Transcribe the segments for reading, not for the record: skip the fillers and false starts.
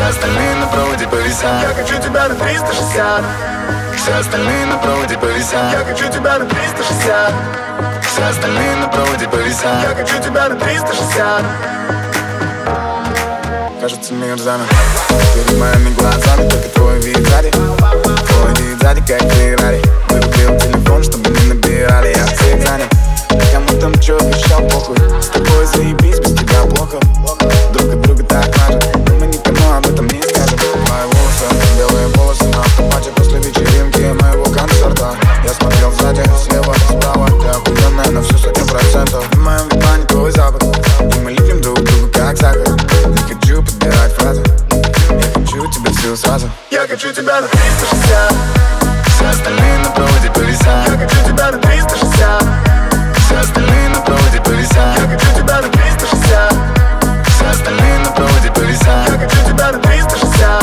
остальные на проводе повисят. Я хочу тебя на 360. Все остальные на проводе повисят. Я хочу тебя на 360. Все остальные на проводе повисят. Я хочу тебя на 360. Кажется, мир замер перед моими глазами, только твой вид сзади. Твой вид сзади, как Феррари. Вырубил телефон, чтобы не набирали. Я всех занят, кому там чё обещал, похуй. С тобой заебись, без тебя плохо. Друг от друга так мажет, но мы никому об этом не скажем. Мои волосы, белые волосы на автомате после вечеринки моего концерта. Я смотрел сзади, слева, справа. Ты охуенная на всю 100%. В моем внимании твой запах, и мы липнем друг к другу как сахар. Не хочу подбирать фразы, я хочу тебя всю сразу. Я хочу тебя на 360. Все остальные на проводе повисят. Я хочу тебя на 360. Все остальные на проводе повисят. Я хочу тебя на 360. Все остальные на проводе повисят. Я хочу тебя на 360.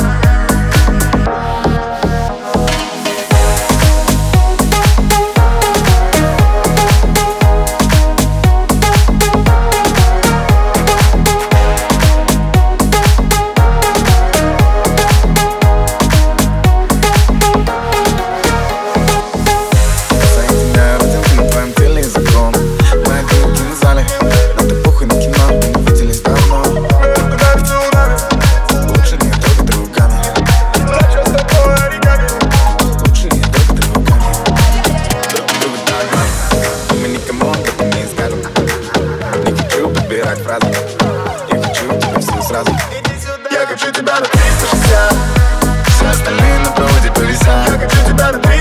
Фразы. Я хочу тебя всю сразу. Я хочу тебя на 360. Все остальные на проводе повисят. Я хочу тебя на 360.